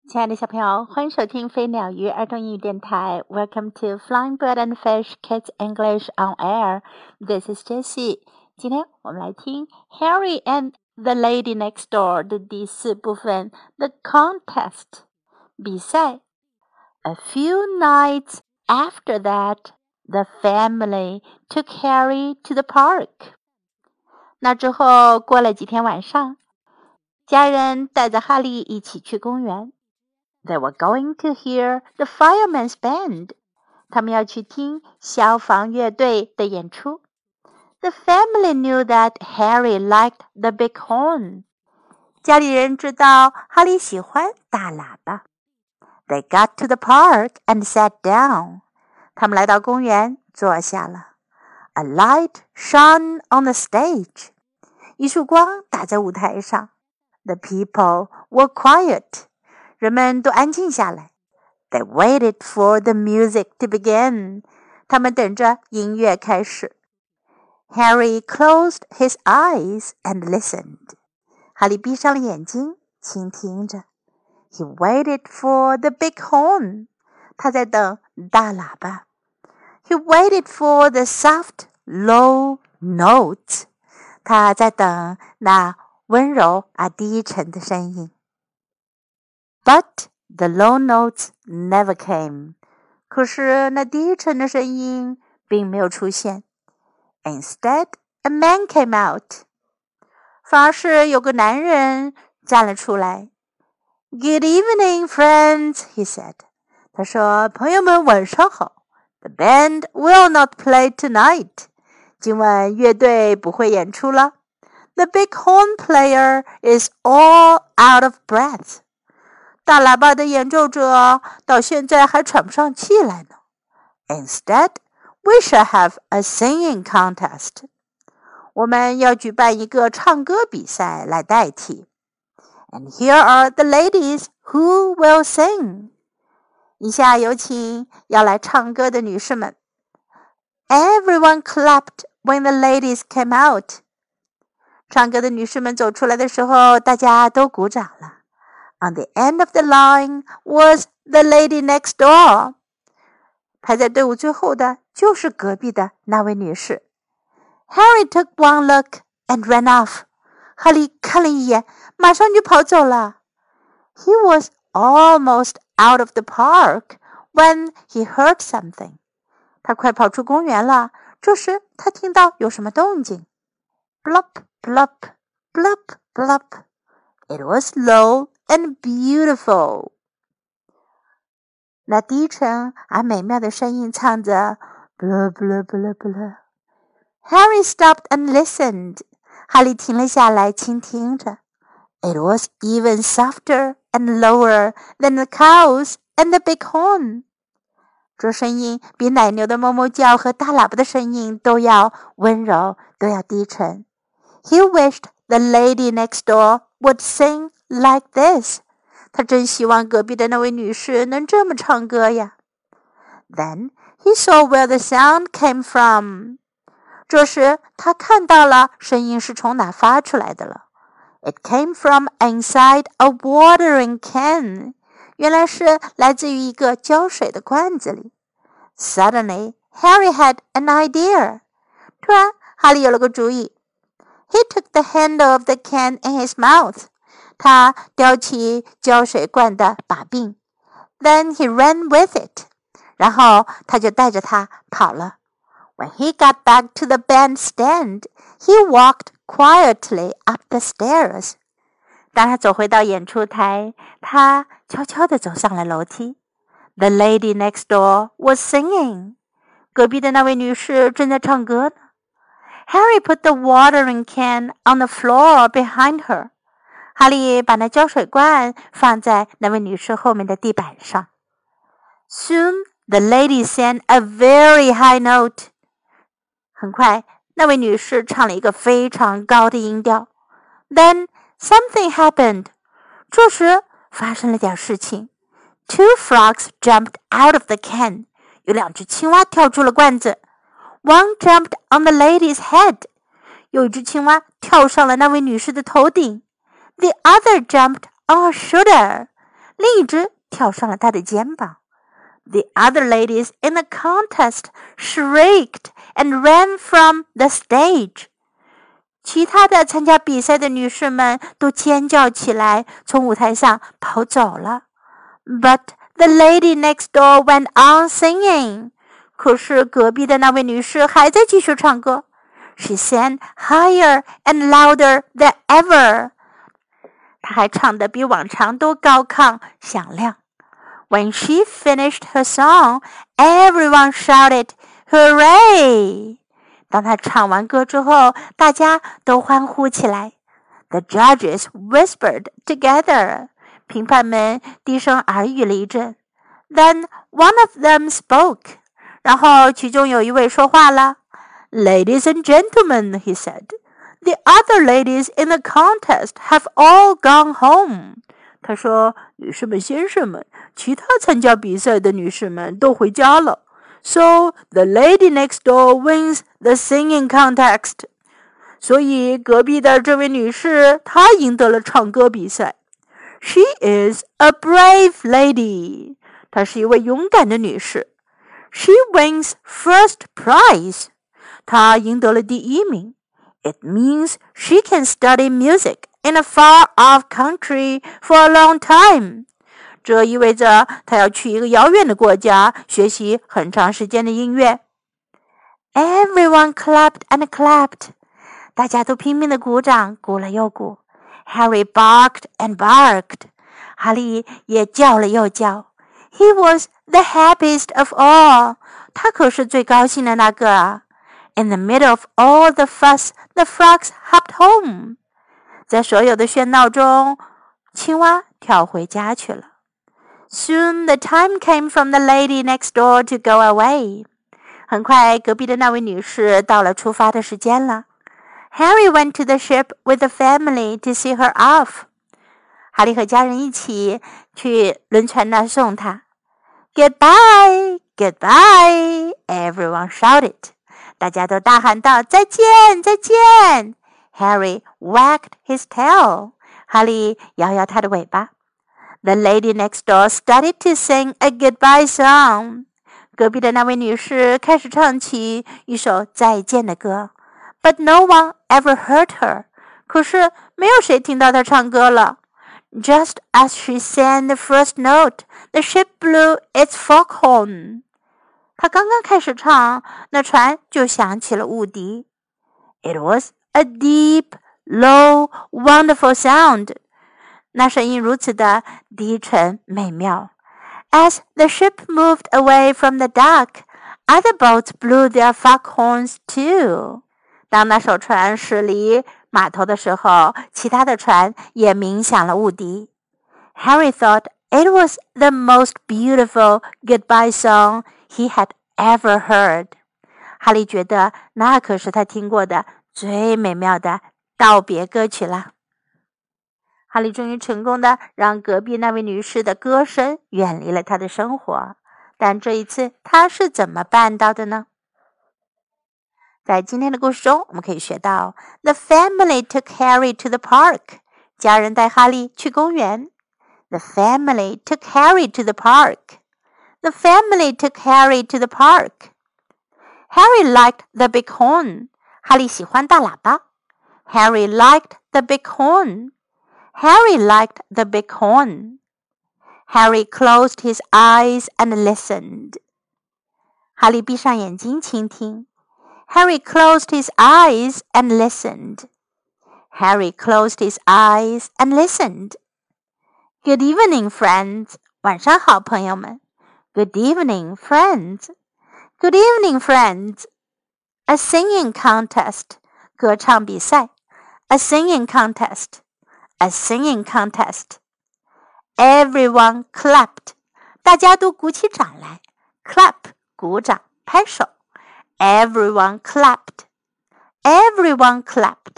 亲爱的小朋友，欢迎收听飞鸟鱼儿童英语电台。Welcome to Flying Bird and Fish Kids English on Air. This is Jessie. 今天我们来听 Harry and the Lady Next Door 的第4部分 The Contest 比赛。A few nights after that, the family took Harry to the park. 那之后过了几天晚上，家人带着哈利一起去公园。They were going to hear the fireman's band. 他们要去听消防乐队的演出。The family knew that Harry liked the big horn. 家里人知道哈利喜欢大喇叭。They got to the park and sat down. 他们来到公园，坐下了。A light shone on the stage. 一束光打在舞台上。The people were quiet.人们都安静下来。They waited for the music to begin. 他们等着音乐开始。Harry closed his eyes and listened. 哈利闭上了眼睛，倾听着。He waited for the big horn. 他在等大喇叭。He waited for the soft, low notes. 他在等那温柔低沉的声音。But the low notes never came. 可是那低沉的声音并没有出现。Instead, a man came out. 反而是有个男人站了出来。Good evening, friends, he said. 他说，朋友们晚上好。The band will not play tonight. 今晚乐队不会演出了。The big horn player is all out of breath.大喇叭的演奏者到现在还喘不上气来呢。Instead, we shall have a singing contest. 我们要举办一个唱歌比赛来代替。And here are the ladies who will sing. 以下有请要来唱歌的女士们。Everyone clapped when the ladies came out. 唱歌的女士们走出来的时候，大家都鼓掌了。On the end of the line was the lady next door. 排在队伍最后的就是隔壁的那位女士。Harry took one look and ran off. 哈利看了一眼，马上就跑走了。He was almost out of the park when he heard something. 他快跑出公园了，这时他听到有什么动静。Blop, blop, blop, blop. It was low.And beautiful. 那低沉而美妙的声音唱着 blah blah blah blah. Harry stopped and listened. 哈利停了下来，倾听着。It was even softer and lower than the cows and the big horn. 这声音比奶牛的哞哞叫和大喇叭的声音都要温柔，都要低沉。He wished the lady next door would sing.Like this. 他真希望隔壁的那位女士能这么唱歌呀。Then he saw where the sound came from. 这时他看到了声音是从哪发出来的了。It came from inside a watering can. 原来是来自于一个浇水的罐子里。Suddenly, Harry had an idea. 突然，哈利有了个主意。He took the handle of the can in his mouth.他叼起浇水罐的把柄 Then he ran with it. 然后他就带着它跑了。When he got back to the bandstand, he walked quietly up the stairs. 当他走回到演出台，他悄悄地走上了楼梯。The lady next door was singing. 隔壁的那位女士正在唱歌呢。Harry put the watering can on the floor behind her.哈利把那浇水罐放在那位女士后面的地板上。Soon, the lady sang a very high note. 很快，那位女士唱了一个非常高的音调。Then, something happened. 这时发生了点事情。Two frogs jumped out of the can. 有2只青蛙跳出了罐子。One jumped on the lady's head. 有一只青蛙跳上了那位女士的头顶。The other jumped on her shoulder. 另一只跳上了他的肩膀。The other ladies in the contest shrieked and ran from the stage. 其他的参加比赛的女士们都尖叫起来，从舞台上跑走了。But the lady next door went on singing. 可是隔壁的那位女士还在继续唱歌。She sang higher and louder than ever. 她还唱得比往常都高亢响亮。When she finished her song, everyone shouted, Hooray! 当她唱完歌之后，大家都欢呼起来。The judges whispered together. 评判们低声耳语了一阵。Then one of them spoke. 然后其中有一位说话了。Ladies and gentlemen, he said, the other ladies in the contest have all gone home. 他说，女士们、先生们，其他参加比赛的女士们都回家了。So the lady next door wins the singing contest. 所以隔壁的这位女士，她赢得了唱歌比赛。She is a brave lady. 她是一位勇敢的女士。She wins first prize. 她赢得了第一名。It means she can study music in a far-off country for a long time. 这意味着她要去一个遥远的国家学习很长时间的音乐。Everyone clapped and clapped. 大家都拼命地鼓掌，鼓了又鼓。Harry barked and barked. 哈利也叫了又叫。He was the happiest of all. 他可是最高兴的那个啊。In the middle of all the fuss, the frogs hopped home. 在所有的喧闹中，青蛙跳回家去了。Soon the time came from the lady next door to go away. 很快，隔壁的那位女士到了出发的时间了。Harry went to the ship with the family to see her off. 哈利和家人一起去轮船那儿送她。Goodbye, goodbye, everyone shouted. 大家都大喊道：“再见，再见！” Harry wagged his tail. 哈利摇摇他的尾巴。The lady next door started to sing a goodbye song. 隔壁的那位女士开始唱起一首再见的歌。But no one ever heard her. 可是没有谁听到她唱歌了。Just as she sang the first note, the ship blew its foghorn. 她刚刚开始唱，那船就响起了雾笛。It was a deep, low, wonderful sound. 那声音如此的低沉美妙。As the ship moved away from the dock, other boats blew their foghorns too. 当那艘船驶离码头的时候，其他的船也鸣响了雾笛。Harry thought it was the most beautiful goodbye song he had ever heard. 哈利觉得那可是他听过的最美妙的道别歌曲了。哈利终于成功的让隔壁那位女士的歌声远离了他的生活，但这一次他是怎么办到的呢？在今天的故事中，我们可以学到 The family took Harry to the park. 家人带哈利去公园。The family took Harry to the park. The family took Harry to the park. Harry liked the big horn. 哈利喜欢大喇叭。Harry liked the big horn. Harry liked the big horn. Harry closed his eyes and listened. 哈利闭上眼睛倾听。Harry closed his eyes and listened. Harry closed his eyes and listened. Good evening, friends. 晚上好，朋友们。Good evening, friends. Good evening, friends. A singing contest. 歌唱比赛。A singing contest. A singing contest. Everyone clapped. 大家都鼓起掌来。Clap, 鼓掌，拍手。Everyone clapped. Everyone clapped.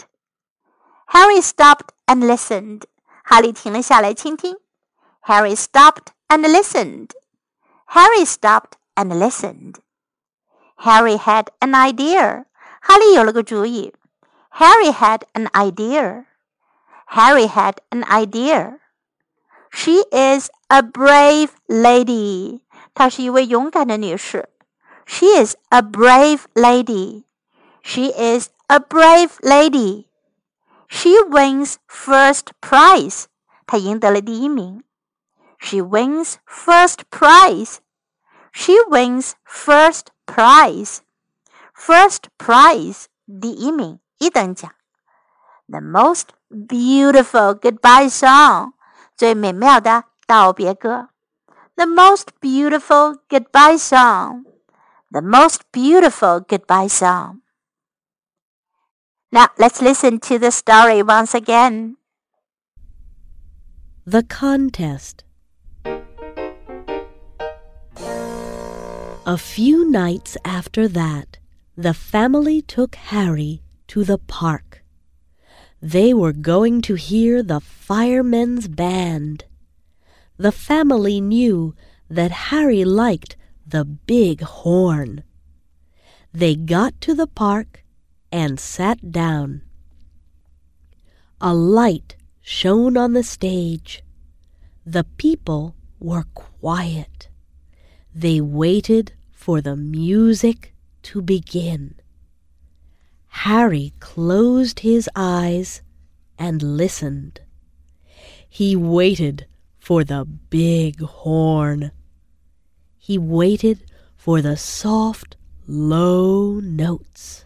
Harry stopped and listened. 哈利停了下来倾听。Harry stopped and listened. Harry stopped and listened. Harry had an idea. 哈利有了个主意。Harry had an idea. Harry had an idea. She is a brave lady. 她是一位勇敢的女士。She is a brave lady. She is a brave lady. She wins first prize. 她赢得了第一名。She wins first prize. She wins first prize. First prize, 第一名，一等奖。The most beautiful goodbye song, 最美妙的道别歌。The most beautiful goodbye song. The most beautiful goodbye song. Now let's listen to the story once again. The contest. A few nights after that, the family took Harry to the park. They were going to hear the firemen's band. The family knew that Harry liked the big horn. They got to the park and sat down. A light shone on the stage. The people were quiet. They waited for the music to begin. Harry closed his eyes and listened. He waited for the big horn. He waited for the soft, low notes.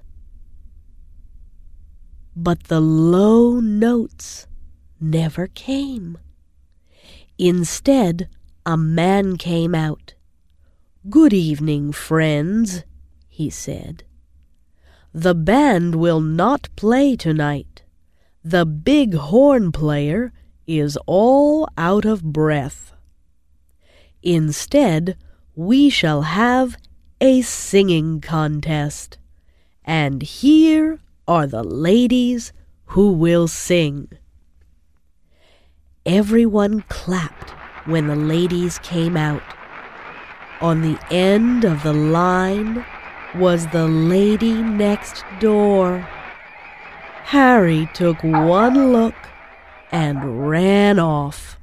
But the low notes never came. Instead, a man came out. "Good evening, friends," he said. "The band will not play tonight. The big horn player is all out of breath. Instead, we shall have a singing contest, and here are the ladies who will sing." Everyone clapped when the ladies came out. On the end of the line was the lady next door. Harry took one look and ran off.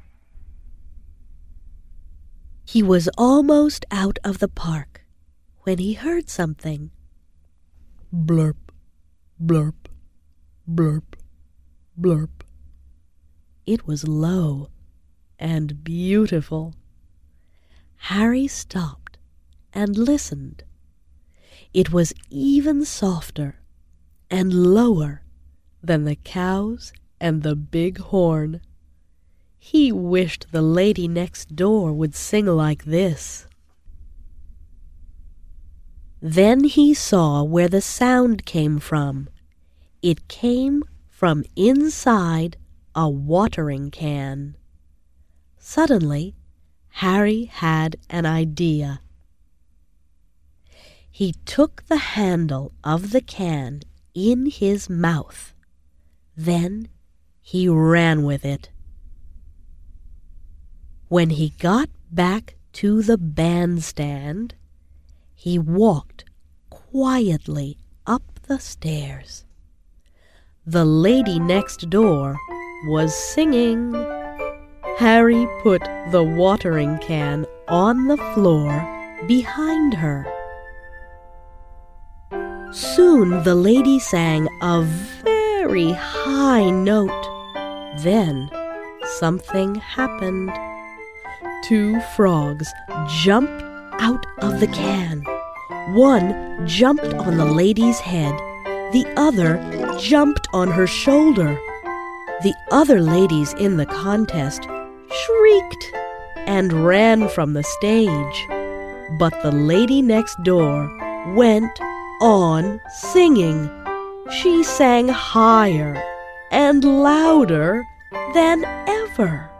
He was almost out of the park when he heard something. Blurp, blurp, blurp, blurp. It was low and beautiful. Harry stopped and listened. It was even softer and lower than the cows and the big horn. He wished the lady next door would sing like this. Then he saw where the sound came from. It came from inside a watering can. Suddenly, Harry had an idea. He took the handle of the can in his mouth. Then he ran with it. When he got back to the bandstand, he walked quietly up the stairs. The lady next door was singing. Harry put the watering can on the floor behind her. Soon the lady sang a very high note. Then something happened. 2 frogs jumped out of the can. One jumped on the lady's head. The other jumped on her shoulder. The other ladies in the contest shrieked and ran from the stage. But the lady next door went on singing. She sang higher and louder than ever.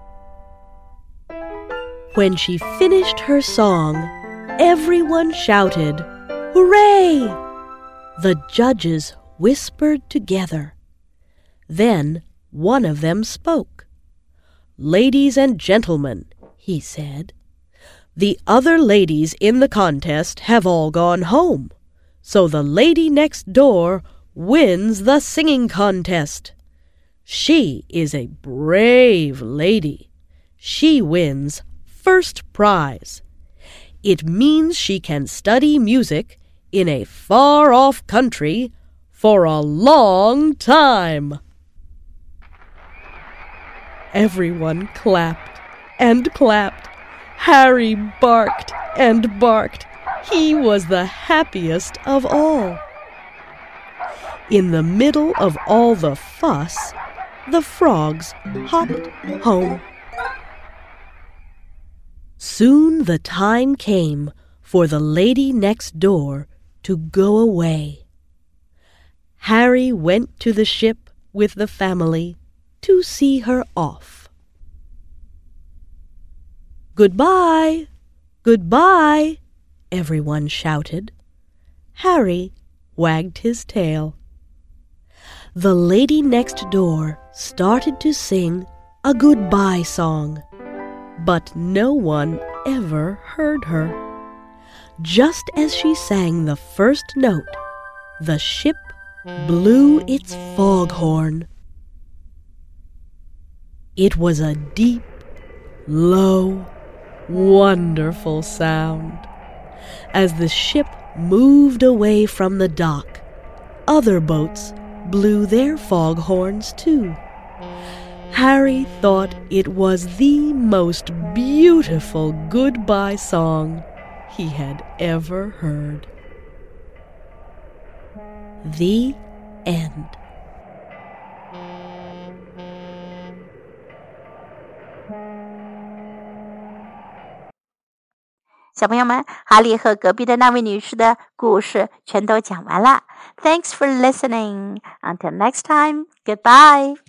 When she finished her song, everyone shouted, "Hooray!" The judges whispered together. Then one of them spoke. "Ladies and gentlemen," he said, "the other ladies in the contest have all gone home, so the lady next door wins the singing contest. She is a brave lady, she wins first prize. It means she can study music in a far-off country for a long time. Everyone clapped and clapped. Harry barked and barked. He was the happiest of all. In the middle of all the fuss, the frogs hopped home. Soon the time came for the lady next door to go away. Harry went to the ship with the family to see her off. "Goodbye! Goodbye!" everyone shouted. Harry wagged his tail. The lady next door started to sing a goodbye song, but no one ever heard her. Just as she sang the first note, the ship blew its foghorn. It was a deep, low, wonderful sound. As the ship moved away from the dock, other boats blew their foghorns too. Harry thought it was the most beautiful goodbye song he had ever heard. The end. 小朋友们，哈利和隔壁的那位女士的故事全都讲完了。Thanks for listening. Until next time, goodbye.